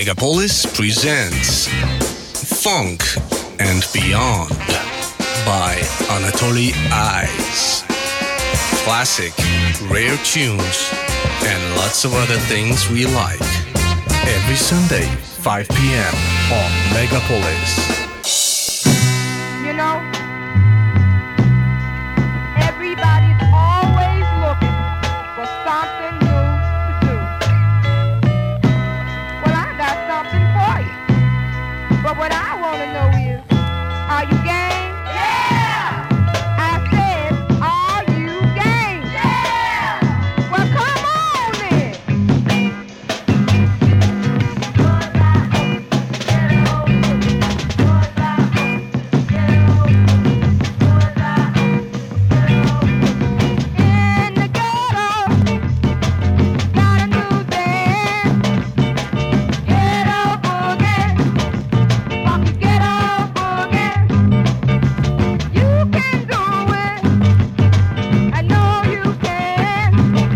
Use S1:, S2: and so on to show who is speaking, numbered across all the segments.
S1: Megapolis presents Funk and Beyond by Anatoly Ice. Classic, rare tunes, and lots of other things we like. Every Sunday, 5 p.m. on Megapolis.
S2: You know, everybody's always looking for something new to do. Well, I got something for you. But what I want to know is, are you game? Yeah! I said, are you game? Yeah! Well, come on then! In the ghetto, got a new dance. Ghetto boogie, funky ghetto boogie. You can do it, I know you can.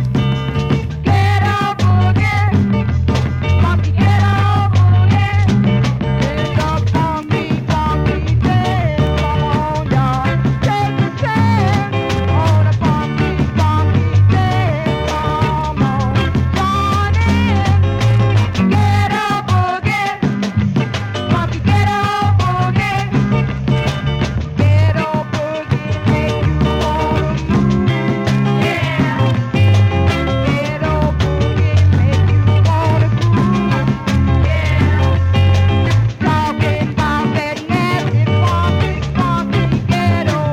S2: Ghetto boogie, funky ghetto boogie. It's a funky, funky dance. Come on, y'all, take a chance on a funky, funky dance. Come on, join in. Ghetto boogie, funky ghetto boogie. Ghetto boogie make you wanna move. Yeah. Ghetto boogie make you wanna groove. Yeah. Talking about that nasty funky, funky ghetto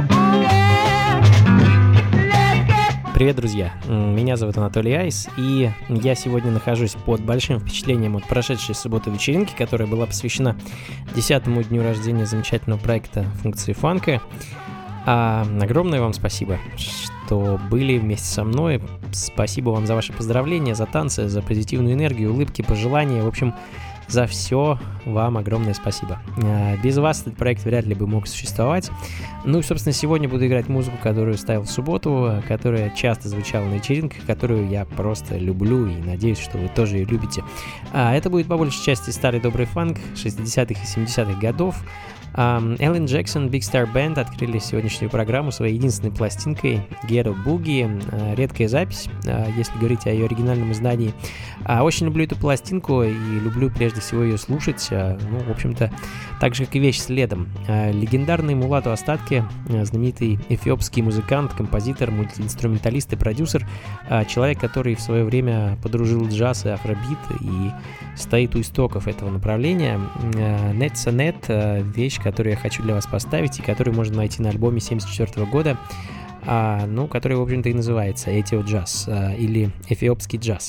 S2: boogie. Let's get
S3: Привет, друзья! Меня зовут Анатолий Айс, и я сегодня нахожусь под большим впечатлением от прошедшей субботы вечеринки, которая была посвящена 10-му дню рождения замечательного проекта «Функции фанка». Огромное вам спасибо, что были вместе со мной. Спасибо вам за ваши поздравления, за танцы, за позитивную энергию, улыбки, пожелания. В общем, за все вам огромное спасибо. Без вас этот проект вряд ли бы мог существовать. Ну и, собственно, сегодня буду играть музыку, которую ставил в субботу, которая часто звучала на вечеринках, которую я просто люблю и надеюсь, что вы тоже ее любите. Это будет по большей части старый добрый фанк 60-х и 70-х годов. Эллен Джексон, Big Star Band открыли сегодняшнюю программу своей единственной пластинкой Ghetto Boogie. Редкая запись, если говорить о ее оригинальном издании. Очень люблю эту пластинку и люблю прежде всего ее слушать. Ну, в общем-то, так же, как и вещь следом. Легендарный Мулату Астатке, знаменитый эфиопский музыкант, композитор, мультиинструменталист и продюсер. Человек, который в свое время подружил джаз и афробит и стоит у истоков этого направления. Netsa Net, вещь, которую я хочу для вас поставить и которую можно найти на альбоме 1974 года, который, в общем-то, и называется «Этио джаз» или «Эфиопский джаз».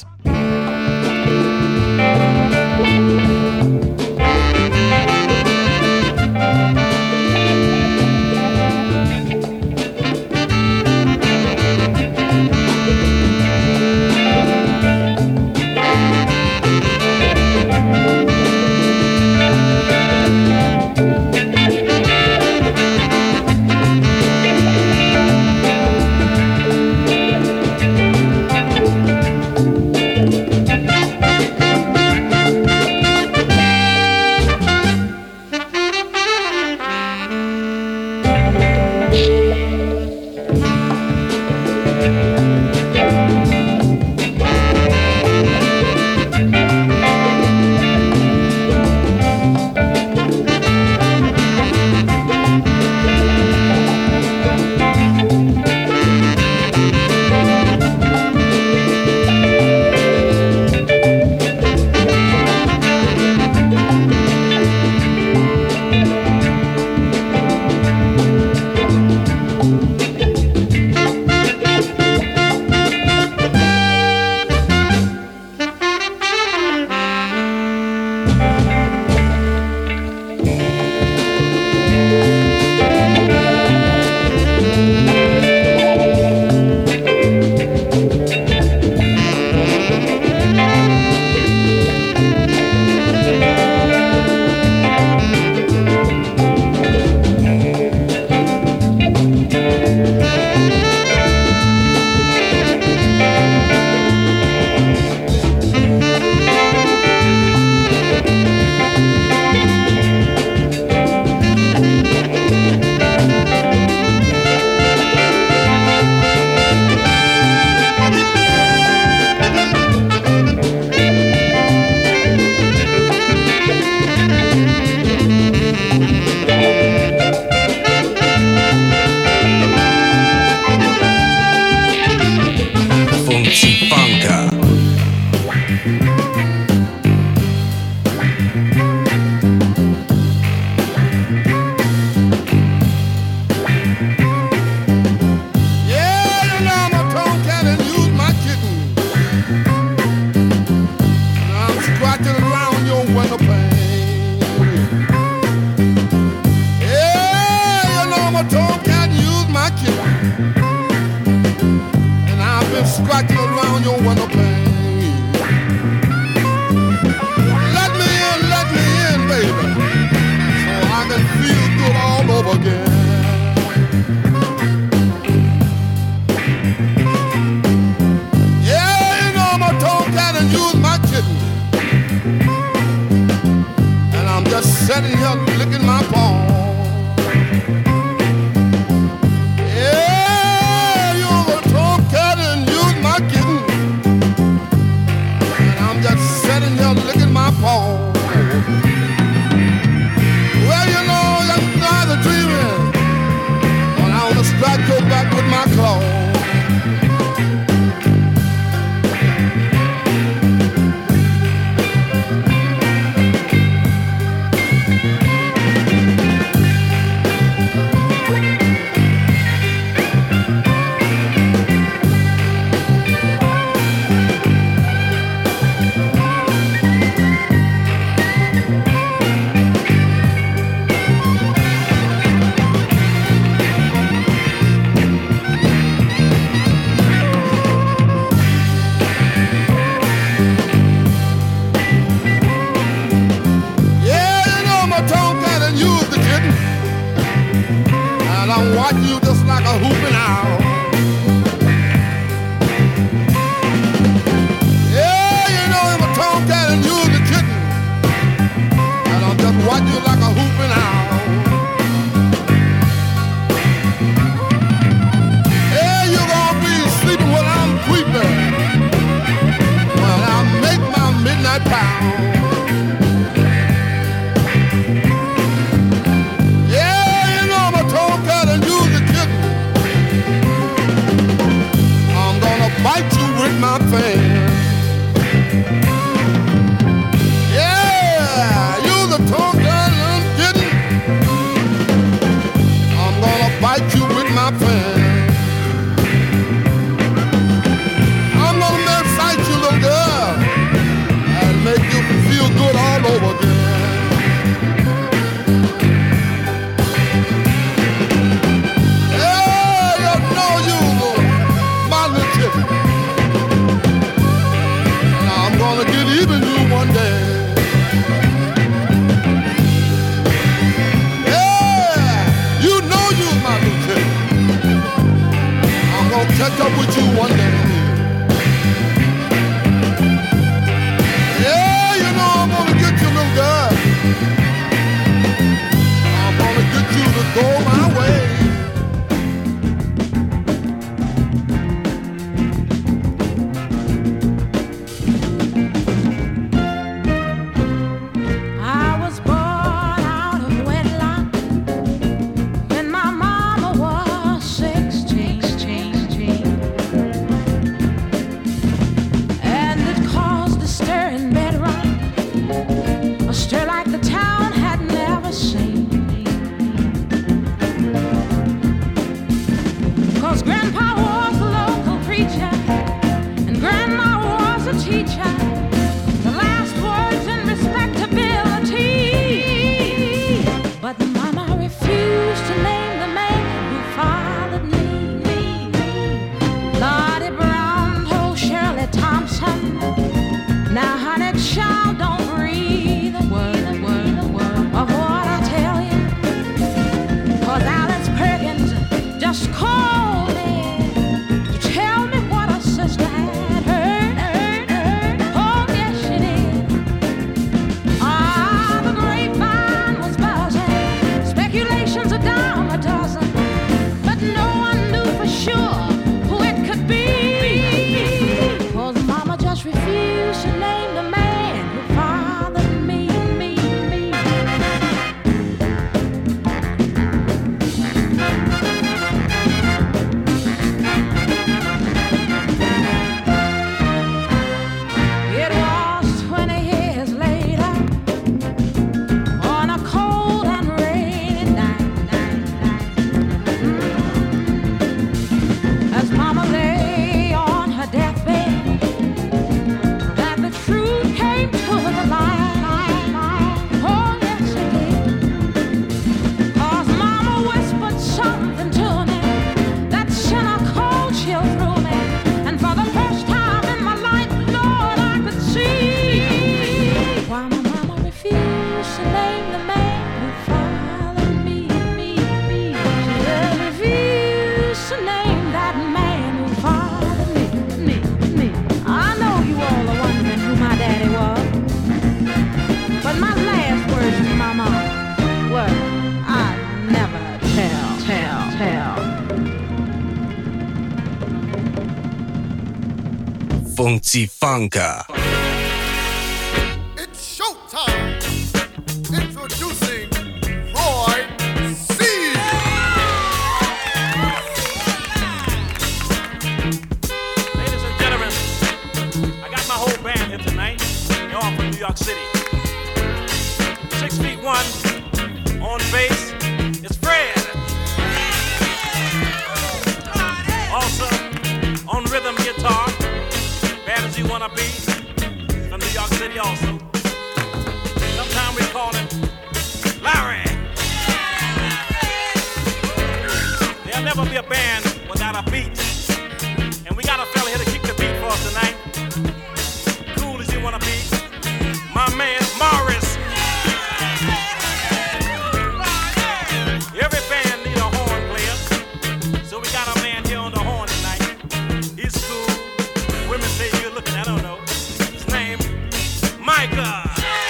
S4: Scratching around your window pane. Let me in, baby, so I can feel good all over again. Yeah, you know I'm a tomcat and you's my kitten, and I'm just sitting here licking my paw. Licking my paw. Well, you know, that's not the dreaming when I want to strike your back with my claw. Watch you just like a hooping owl. Yeah, you know I'm a tomcat and you're the kitten, and I'll just watch you like a hooping owl. Yeah, you're gonna be sleeping while I'm creeping, when I make my midnight pound. Bite you with my fan. Yeah, you're the tomcat I'm getting. I'm gonna bite you with my fan. I'm gonna excite you, little girl, and make you feel good all over again. Even you one day. Yeah, you know you're my lieutenant. I'm gonna catch up with you one day. Yeah, you know I'm gonna get you, little girl. I'm gonna get you to go my way.
S5: Tell me what a sister had heard.
S1: Функции фанка.
S4: It's showtime. Introducing Roy C.
S5: Ladies and gentlemen, I got my whole band here tonight. They're all from New York City. 6'1" on bass, it's Fred. Also on rhythm guitar, bad as you wanna be, from New York City also. Sometimes we call him Larry. There'll never be a band without a beat, and we got a fella here to keep the beat for us tonight. Cool as you wanna be, my man Morris. Every band need a horn player, so we got a man here on the horn tonight. He's cool. Women say you're looking, I don't know. His name, Micah.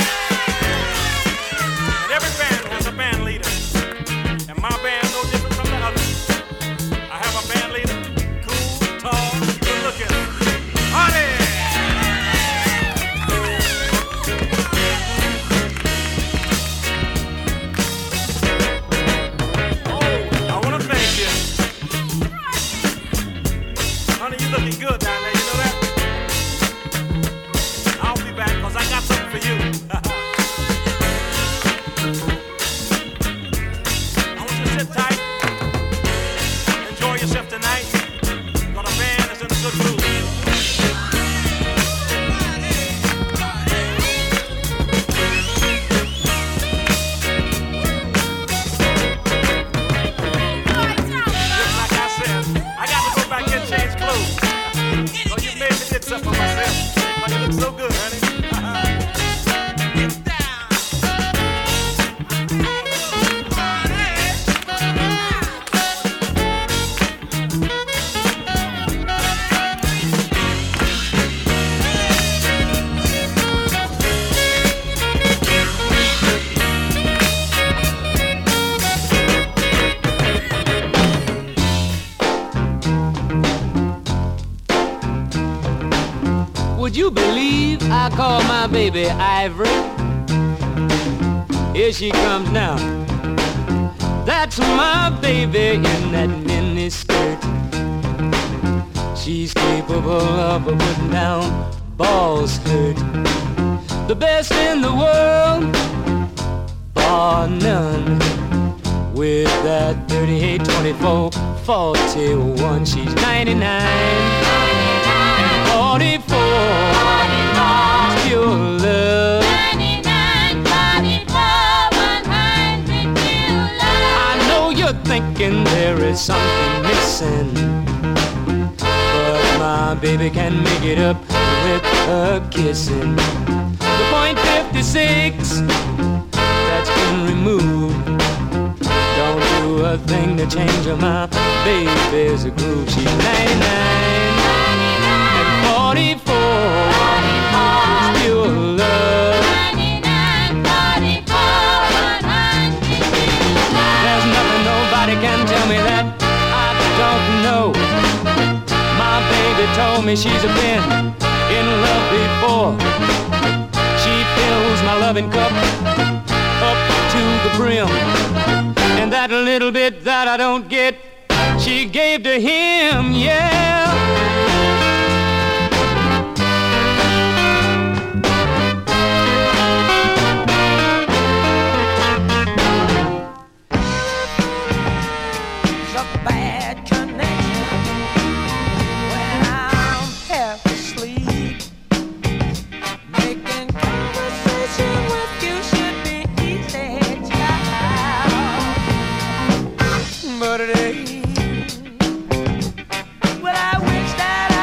S5: And every band has a band leader, and my band no different from the others. I have a band leader, cool, tall, good looking. Honey! You looking good down there, you know that? I'll be back, cause I got something for you. I want you to sit tight, enjoy yourself tonight, cause the band is in a good mood. Just like I said, I got to go back and change clothes. Oh, you made me did something for myself. But you look so good, honey. Get down.
S6: Would you believe I call my baby Ivory? Here she comes now. That's my baby in that mini skirt. She's capable of putting down balls hurt. The best in the world, bar none. With that 38, 24, 41, she's 99. 44, pure love.
S7: 99, 44, 100 pure love.
S6: I know you're thinking there is something missing, but my baby can make it up with her kissing. The point 56, that's been removed, don't do a thing to change her. My baby's a groove. She's 99. 44, pure love.
S7: 99, 44, 100 pure love.
S6: There's nothing nobody can tell me that I don't know. My baby told me she's been in love before. She fills my loving cup up to the brim, and that little bit that I don't get, she gave to him, yeah.
S7: Well, I wish that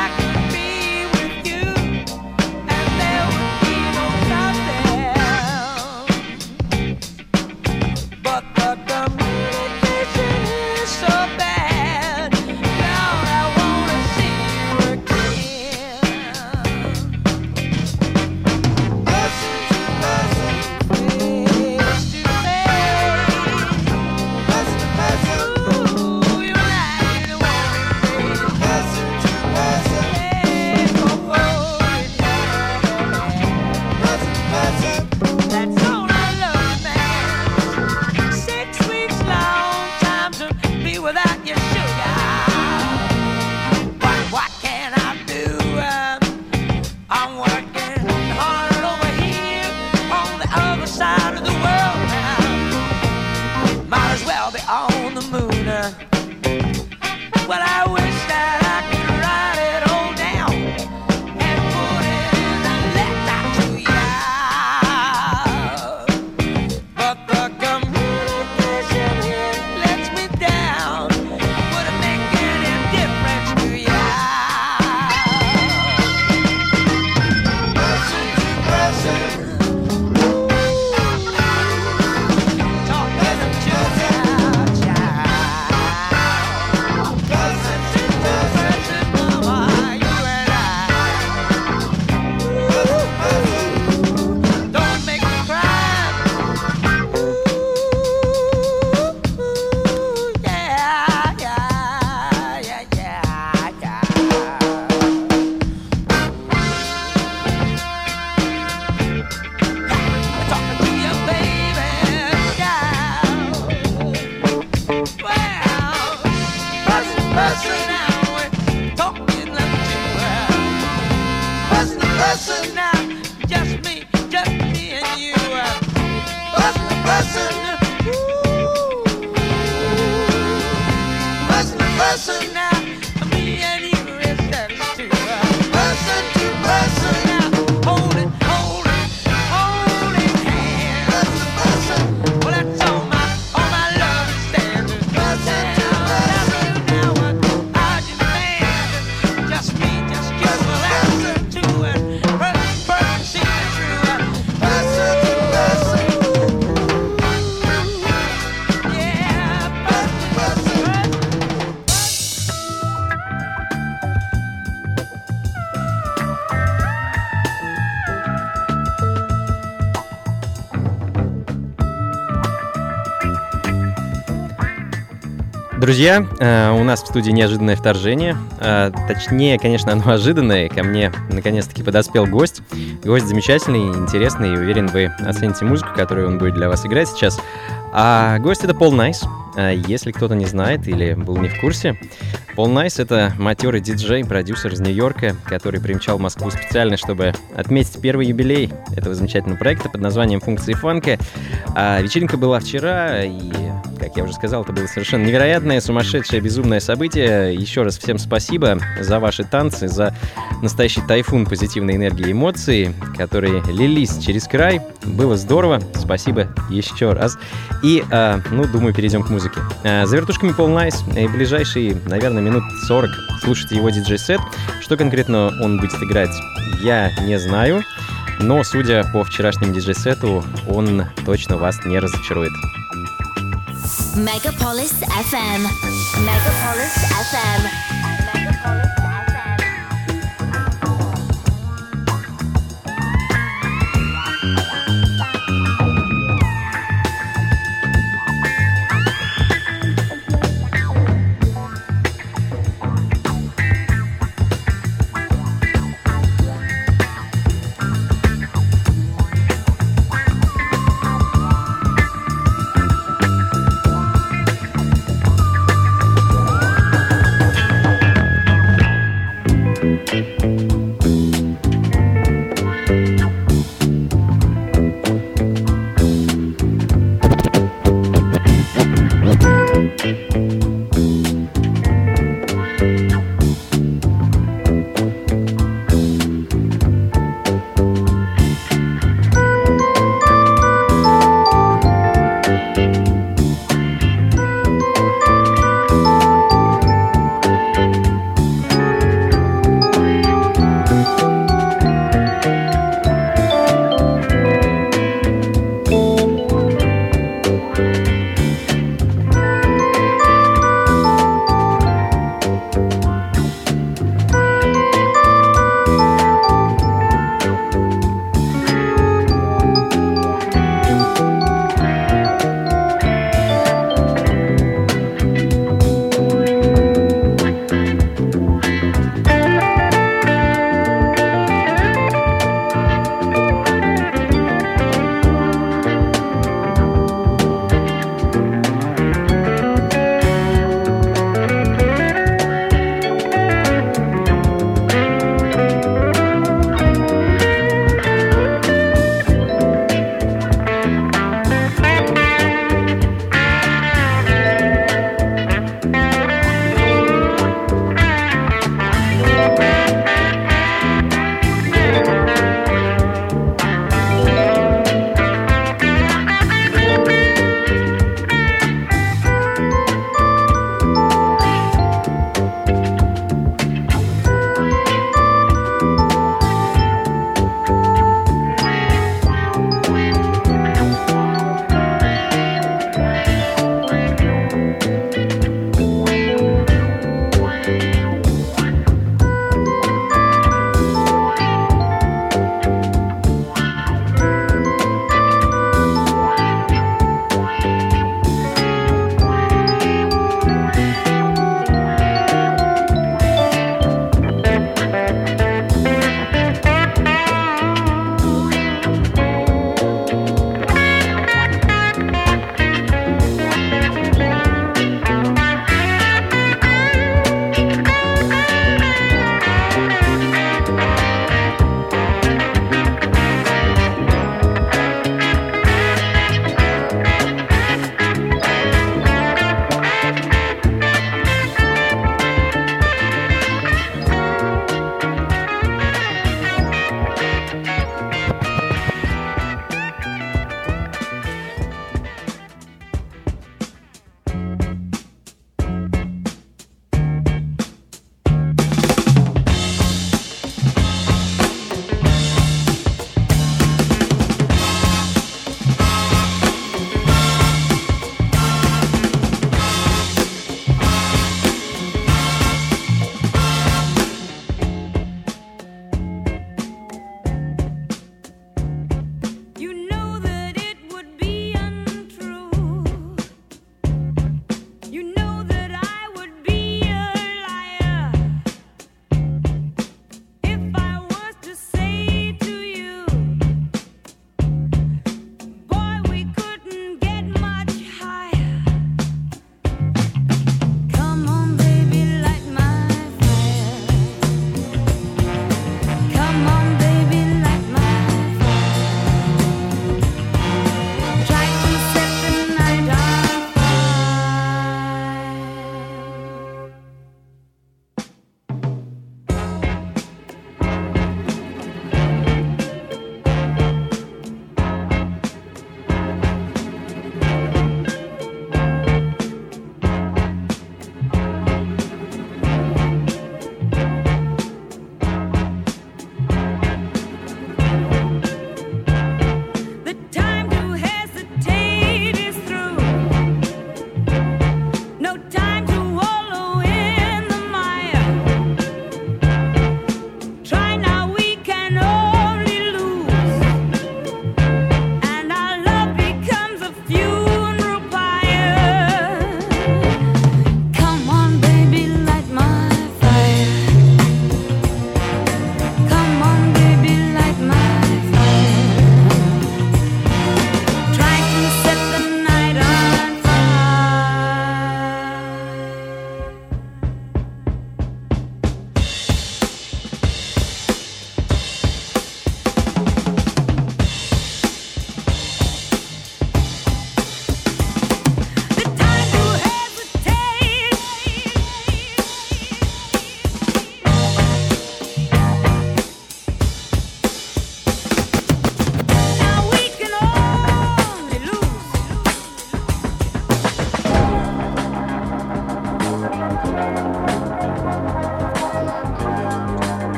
S3: Друзья, у нас в студии неожиданное вторжение. Точнее, конечно, оно ожиданное. Ко мне наконец-таки подоспел гость. Гость замечательный, интересный, и уверен, вы оцените музыку, которую он будет для вас играть сейчас. А гость — это Пол Найс. Если кто-то не знает или был не в курсе, Пол Найс — это матерый диджей, продюсер из Нью-Йорка, который примчал в Москву специально, чтобы отметить первый юбилей этого замечательного проекта под названием «Функции фанка». Вечеринка была вчера, и, как я уже сказал, это было совершенно невероятное, сумасшедшее, безумное событие. Еще раз всем спасибо за ваши танцы, за настоящий тайфун позитивной энергии и эмоций, которые лились через край. Было здорово, спасибо еще раз. И, думаю, перейдем к музыке. За вертушками Пол Найс, и ближайшие, наверное, минут 40 слушайте его диджей-сет. Что конкретно он будет играть, я не знаю, но, судя по вчерашнему диджей-сету, он точно вас не разочарует.
S8: Megapolis FM. Megapolis FM. Megapolis FM.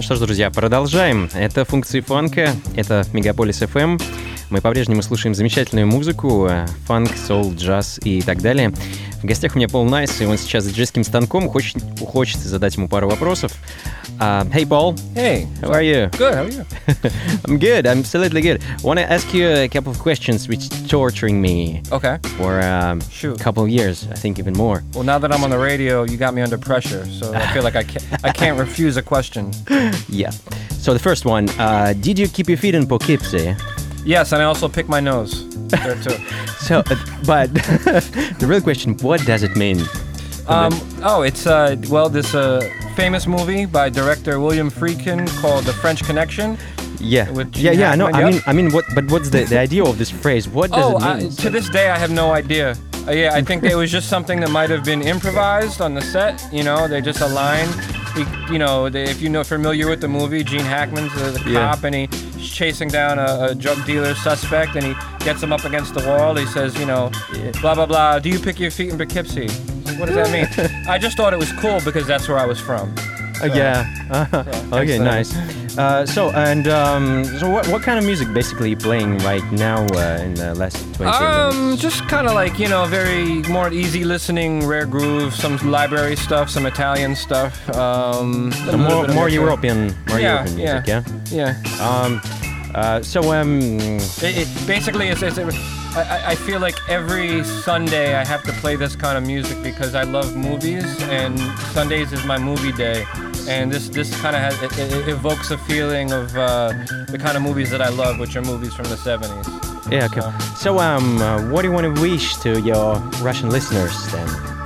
S9: Что ж, друзья, продолжаем. Это функции фанка, это Мегаполис FM. Мы по-прежнему слушаем замечательную музыку, фанк, соул, джаз и так далее. В гостях у меня Пол Найс, и он сейчас с диджейским станком. Хочется задать ему пару вопросов. Hey, Paul.
S10: Hey.
S9: How are you?
S10: Good, how are you?
S9: I'm good, I'm absolutely good. I want to ask you a couple of questions which torturing me
S10: Okay.
S9: for a couple of years, I think even more.
S10: Well, now that I'm on the radio, you got me under pressure, so I feel like I can't refuse a question.
S9: Yeah. So the first one, did you keep your feet in Poughkeepsie?
S10: Yes, and I also pick my nose there too.
S9: So, but the real question, what does it mean?
S10: It's this famous movie by director William Friedkin called The French Connection.
S9: Yeah,
S10: With Gene
S9: yeah, I know.
S10: Hackman,
S9: I mean, what's the idea of this phrase? What does it mean?
S10: To this day, I have no idea. I think it was just something that might have been improvised on the set. You know, they just aligned. If you're familiar with the movie, Gene Hackman's the cop, and he's chasing down a drug dealer suspect, and he gets him up against the wall. He says, blah, blah, blah, do you pick your feet in Poughkeepsie? What does that mean? I just thought it was cool because that's where I was from. So,
S9: Okay, nice. So what kind of music basically playing right now in the last 20 minutes?
S10: Just kind of like, very more easy listening, rare groove, some library stuff, some Italian stuff.
S9: More European music, yeah?
S10: Yeah. Basically, I feel like every Sunday I have to play this kind of music because I love movies, and Sundays is my movie day. And this kind of it evokes a feeling of the kind of movies that I love, which are movies from the 70s.
S9: Yeah, okay. So, what do you want to wish to your Russian listeners then?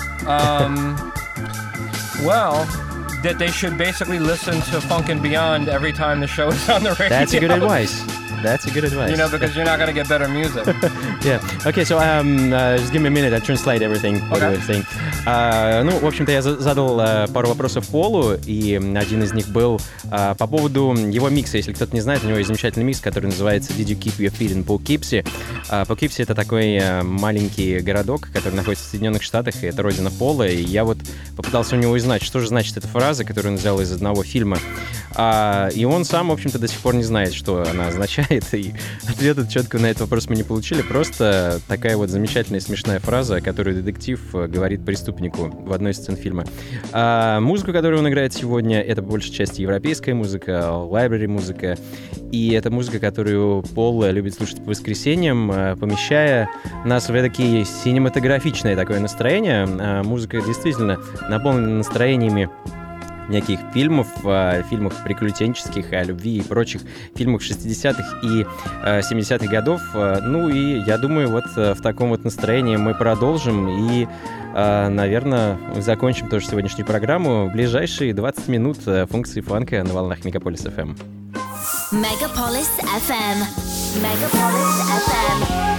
S10: Well, that they should basically listen to Funk and Beyond every time the show is on the radio.
S9: That's a good advice.
S10: Because you're not going to get better music.
S9: Yeah. Okay, so just give me a minute, I translate everything.
S10: Okay.
S9: В общем-то, я задал пару вопросов Полу, и один из них был по поводу его микса. Если кто-то не знает, у него есть замечательный микс, который называется Did You Keep Your Feet in Poughkeepsie? Poughkeepsie — это такой маленький городок, который находится в Соединенных Штатах, и это родина Пола. И я вот попытался у него узнать, что же значит эта фраза, которую он взял из одного фильма. И он сам, в общем-то, до сих пор не знает, что она означает. И ответа четко на этот вопрос мы не получили. Просто такая вот замечательная смешная фраза, которую детектив говорит преступнику в одной из сцен фильма. Музыку, которую он играет сегодня, это по большей части европейская музыка, лайбрери музыка. И это музыка, которую Пол любит слушать по воскресеньям, помещая нас в такие синематографичное такое настроение. Музыка действительно наполнена настроениями неких фильмов, фильмах приключенческих, о любви и прочих фильмах 60-х и 70-х годов. Ну и я думаю, вот в таком вот настроении мы продолжим и, наверное, закончим тоже сегодняшнюю программу в ближайшие 20 минут функции фанка на волнах Мегаполис FM.
S8: Megapolis FM. Megapolis FM.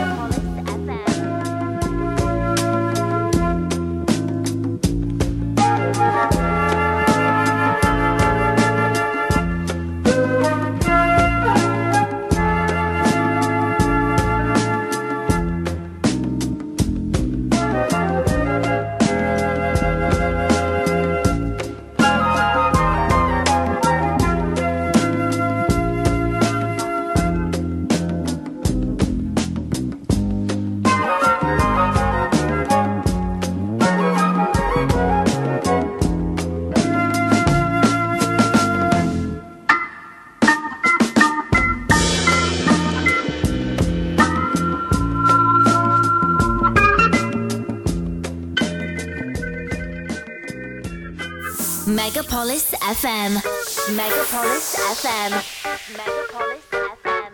S8: Megapolis FM. Megapolis FM. Megapolis FM.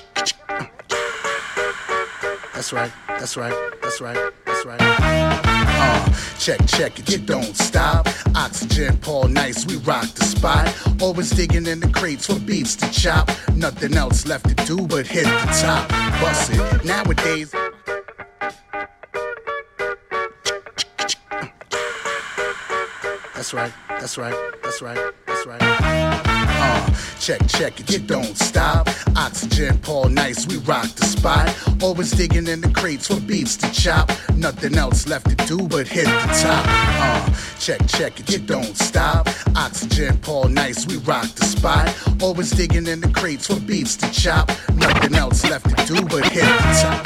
S4: That's right. That's right. That's right. That's right. Check it, you don't stop. Oxygen, Paul Nice, we rock the spot. Always digging in the crates for beats to chop. Nothing else left to do but hit the top. Bust it. Nowadays. That's right. That's right. That's right. That's right. Check it, you don't stop. Oxygen, Paul Nice, we rock the spot. Always digging in the crates for beats to chop. Nothing else left to do but hit the top. Check it, you don't stop. Oxygen, Paul Nice, we rock the spot. Always digging in the crates for beats to chop. Nothing else left to do but hit the top.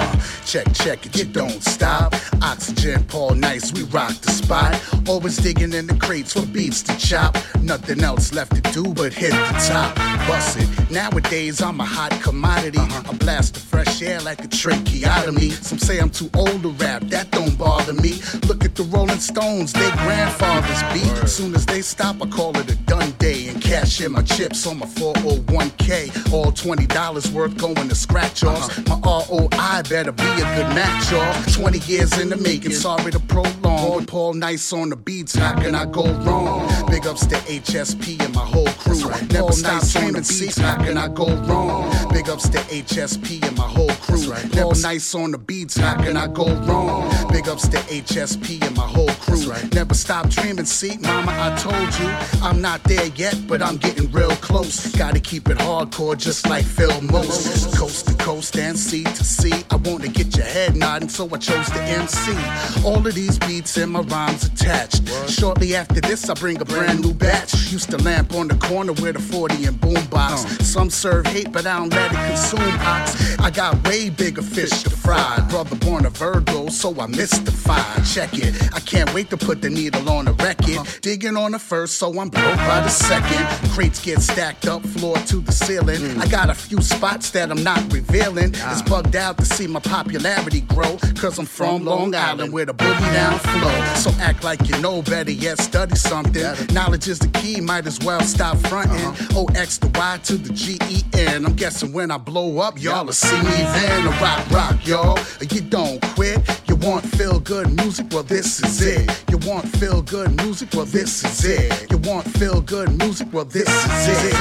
S4: Check it, you don't stop. Oxygen, Paul Nice, we rock the spot. Always digging in the crates for beats to chop. Nothing else left to do but hit the top. Bust it. Nowadays I'm a hot commodity. I blast the fresh air like a tracheotomy. Some say I'm too old to rap, that don't bother me. Look at the Rolling Stones, they grandfathers beat. Soon as they stop, I call it a done day and cash in my chips on my 401k. All $20 worth going to scratch offs. My ROI better be a good match off. 20 years in the making, sorry to prolong. With Paul Nice on the beats, how can I go wrong? Big ups to HSP and my whole crew. Never stop on the beats, how can I go wrong? Big ups to HSP and my whole crew. Never Nice on the beats, how can I go wrong? Big ups to HSP and my whole crew. Never stop dreaming, see, mama, I told you I'm not there yet, but I'm getting real close. Gotta keep it hardcore just like Phil Most. Coast to coast and sea to sea. I want to get your head nodding, so I chose to MC. All of these beats and my rhymes attached. Shortly after this, I bring a brand new batch. Used to lamp on the corner with a 40 and boombox. Some serve hate, but I don't let it consume ox. I got way bigger fish to fry. Brother born a Virgo, so I mystified. Check it, I can't wait to put the needle on the record. Digging on the first, so I'm broke by the second. Crates get stacked up, floor to the ceiling. I got a few spots that I'm not revealing. It's bugged out to see my popularity grow, cause I'm from Long Island with a boogie down flow. So act like you know, better yet study something. Knowledge is the key, might as well stop fronting. OX to Y to the GEN. I'm guessing when I blow up, y'all will see me then. A rock, y'all. You don't quit. You want feel good music? Well, this is it. You want feel good music? Well, this is it. You want feel good music? Well, this is it.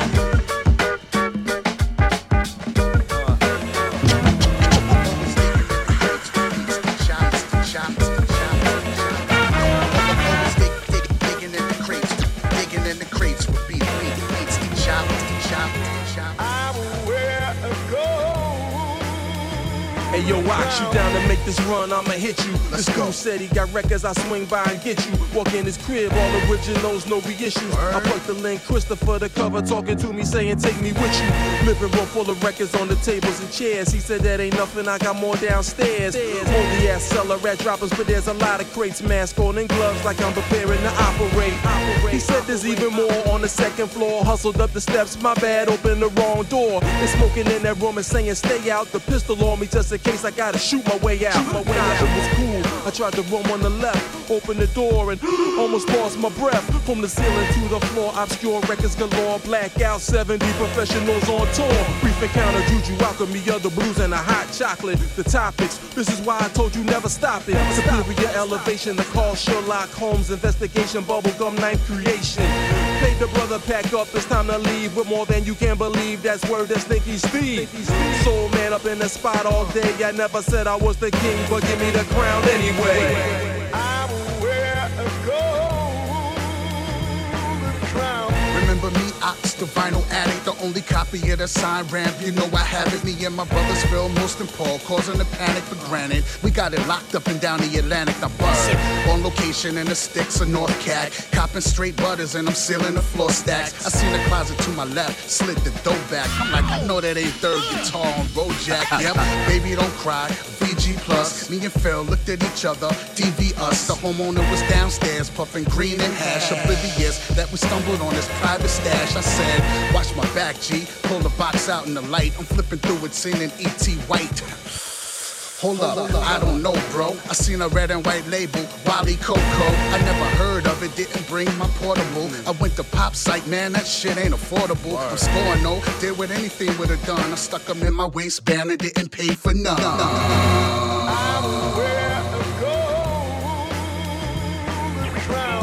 S11: Hey yo, Ox, you down to make this run, I'ma hit you. This dude said he got records, I swing by and get you. Walk in his crib, all originals, no reissues. I plucked the link, Christopher the cover, talking to me, saying take me with you. Living room full of records on the tables and chairs. He said that ain't nothing, I got more downstairs. Only ass seller, rat droppers, but there's a lot of crates. Mask on and gloves like I'm preparing to operate. He said there's even more on the second floor. Hustled up the steps, my bad, opened the wrong door. They smoking in that room and saying stay out. The pistol on me just in case I gotta shoot my way out. It was cool. I tried to roam on the left, open the door and almost lost my breath. From the ceiling to the floor, obscure records galore. Blackout 70 professionals on tour. Brief encounter, juju, alchemy, other blues and a hot chocolate. The topics, this is why I told you never stop it. Superior elevation, the call Sherlock Holmes investigation, bubblegum ninth creation. Paid the brother pack up, it's time to leave with more than you can believe. That's word that Stinky Steve. Soul man up in the spot all day. I never said I was the king, but give me the crown anyway.
S4: I will wear a golden crown. Remember me, Ox, the vinyl addict, the only copy of the sign ramp. You know I have it. Me and my brothers Phil, Most and Paul, causing a panic for granted. We got it locked up and down the Atlantic. I bust on location in the sticks of North Cat, copping straight butters and I'm sealing the floor stacks. I seen the closet to my left, slid the dough back. I'm like, I know that ain't third guitar on Rojack. Yep, baby don't cry. VG plus. Me and Phil looked at each other, DV us. The homeowner was downstairs puffing green and hash, oblivious that we stumbled on his private stash. I said, watch my back, G. Pull the box out in the light. I'm flipping through it, seeing an E.T. White. Hold up, I don't know, bro. I seen a red and white label, Wally Coco. I never heard of it, didn't bring my portable. I went to Pop Site, man, that shit ain't affordable. I'm scoring, no, did what anything would have done. I stuck them in my waistband and didn't pay for none. I will wear a golden crown.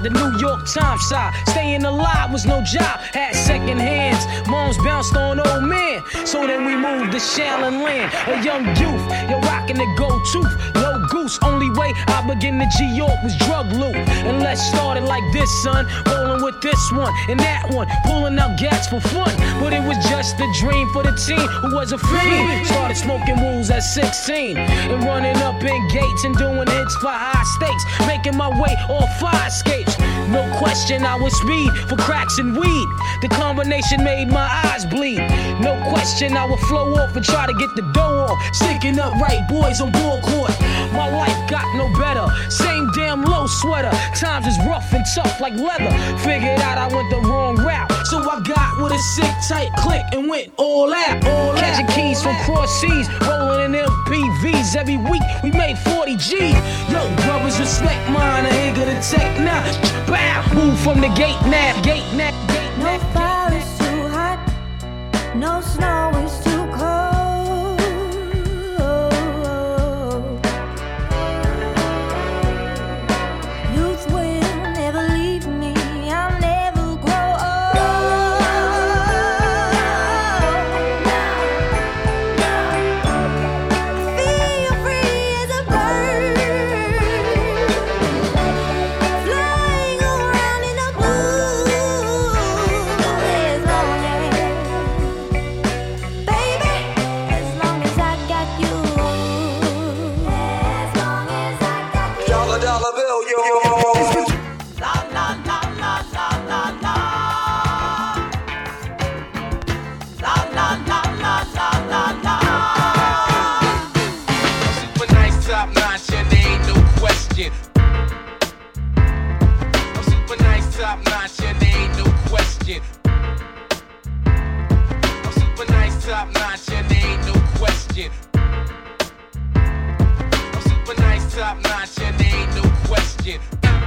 S12: the New York Times side. Staying alive was no job, had second hands. Moms bounced on old men, so then we moved to Shaolin Land. A young youth, you're rocking the gold tooth, low goose. Only way I began to G-York was drug loot. And let's start it like this, son. Rolling with this one and that one, pulling out gats for fun. But it was just a dream for the teen who was a fiend. Started smoking wools at 16 and running up in gates and doing hits for high stakes, making my way off fire escapes. No question I was speed for cracks and weed. The combination made my eyes bleed. No question I would flow off and try to get the dough off. Sticking up right boys on ball court. My life got no better. Same damn low sweater. Times is rough and tough like leather. Figured out I went the wrong route, so I got with a sick tight click and went all out. Catching keys from cross seas, rolling in MPVs. Every week we made 40 G's. Yo, brothers respect mine. I ain't gonna take now. Bow, move from the gate now. Gate now.
S7: No fire is too hot, no snow is too cold. Youth will never leave me, I'll never grow old. I feel free as a bird, flying around in the blue. As long as, baby, as long as I got you. As long as I got you.
S11: Dollar, dollar bill, yo.
S7: La la la la la la la. La la la la la la la.
S11: Super nice, top notch, and there ain't no question. I'm super nice, top notch, and there ain't no question. I'm super nice, top notch, and there ain't no question. I'm super nice, top notch, and there ain't no question.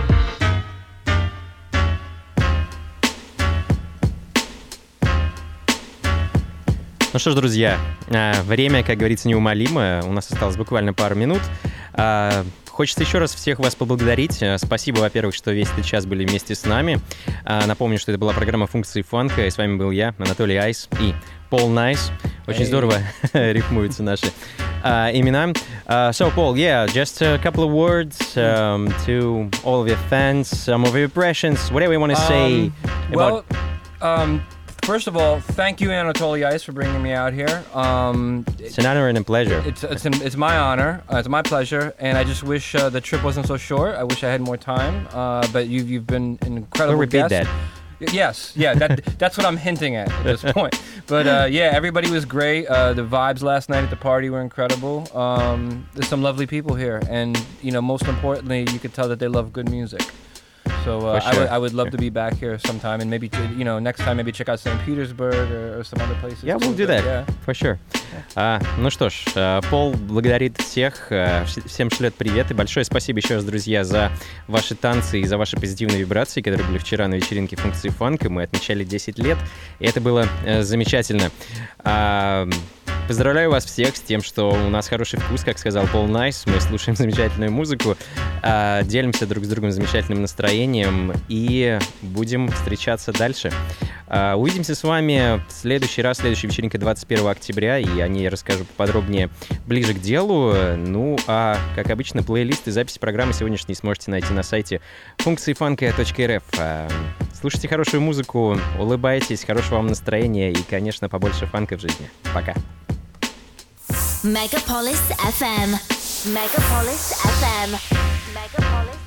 S9: Ну что ж, друзья, время, как говорится, неумолимо. У нас осталось буквально пару минут. Хочется еще раз всех вас поблагодарить. Спасибо, во-первых, что весь этот час были вместе с нами. Напомню, что это была программа «Функции фанка», и с вами был я, Анатолий Айс и Пол Найс. Очень здорово рифмуются наши имена. So, Paul, yeah, just a couple of words to all of your fans, some of your impressions, whatever you want to say about...
S10: First of all, thank you, Anatoly Ice, for bringing me out here.
S9: It's an honor and a pleasure.
S10: It's my honor. It's my pleasure, and I just wish the trip wasn't so short. I wish I had more time. But you've been an incredible
S9: We'll repeat
S10: guest.
S9: that.
S10: Yes, yeah, that's what I'm hinting at this point. But yeah, everybody was great. The vibes last night at the party were incredible. There's some lovely people here, and most importantly, you could tell that they love good music. So
S9: sure.
S10: I would love to be back here sometime, and maybe next time maybe check out St. Petersburg or some other places.
S9: Yeah, we'll do that,
S10: Yeah.
S9: for sure. Ну что ж, Пол благодарит всех, всем шлет привет, и большое спасибо еще раз, друзья, за ваши танцы и за ваши позитивные вибрации, которые были вчера на вечеринке «Функции фанка». Мы отмечали 10 лет, и это было замечательно. Поздравляю вас всех с тем, что у нас хороший вкус, как сказал Пол Найс. Мы слушаем замечательную музыку, делимся друг с другом замечательным настроением и будем встречаться дальше. Увидимся с вами в следующий раз, следующая вечеринка 21 октября, и о ней расскажу поподробнее ближе к делу. Ну, а, как обычно, плейлист и запись программы сегодняшней сможете найти на сайте функциифанка.рф. Слушайте хорошую музыку, улыбайтесь, хорошего вам настроения и, конечно, побольше фанка в жизни. Пока.
S8: Megapolis FM. Megapolis FM. Megapolis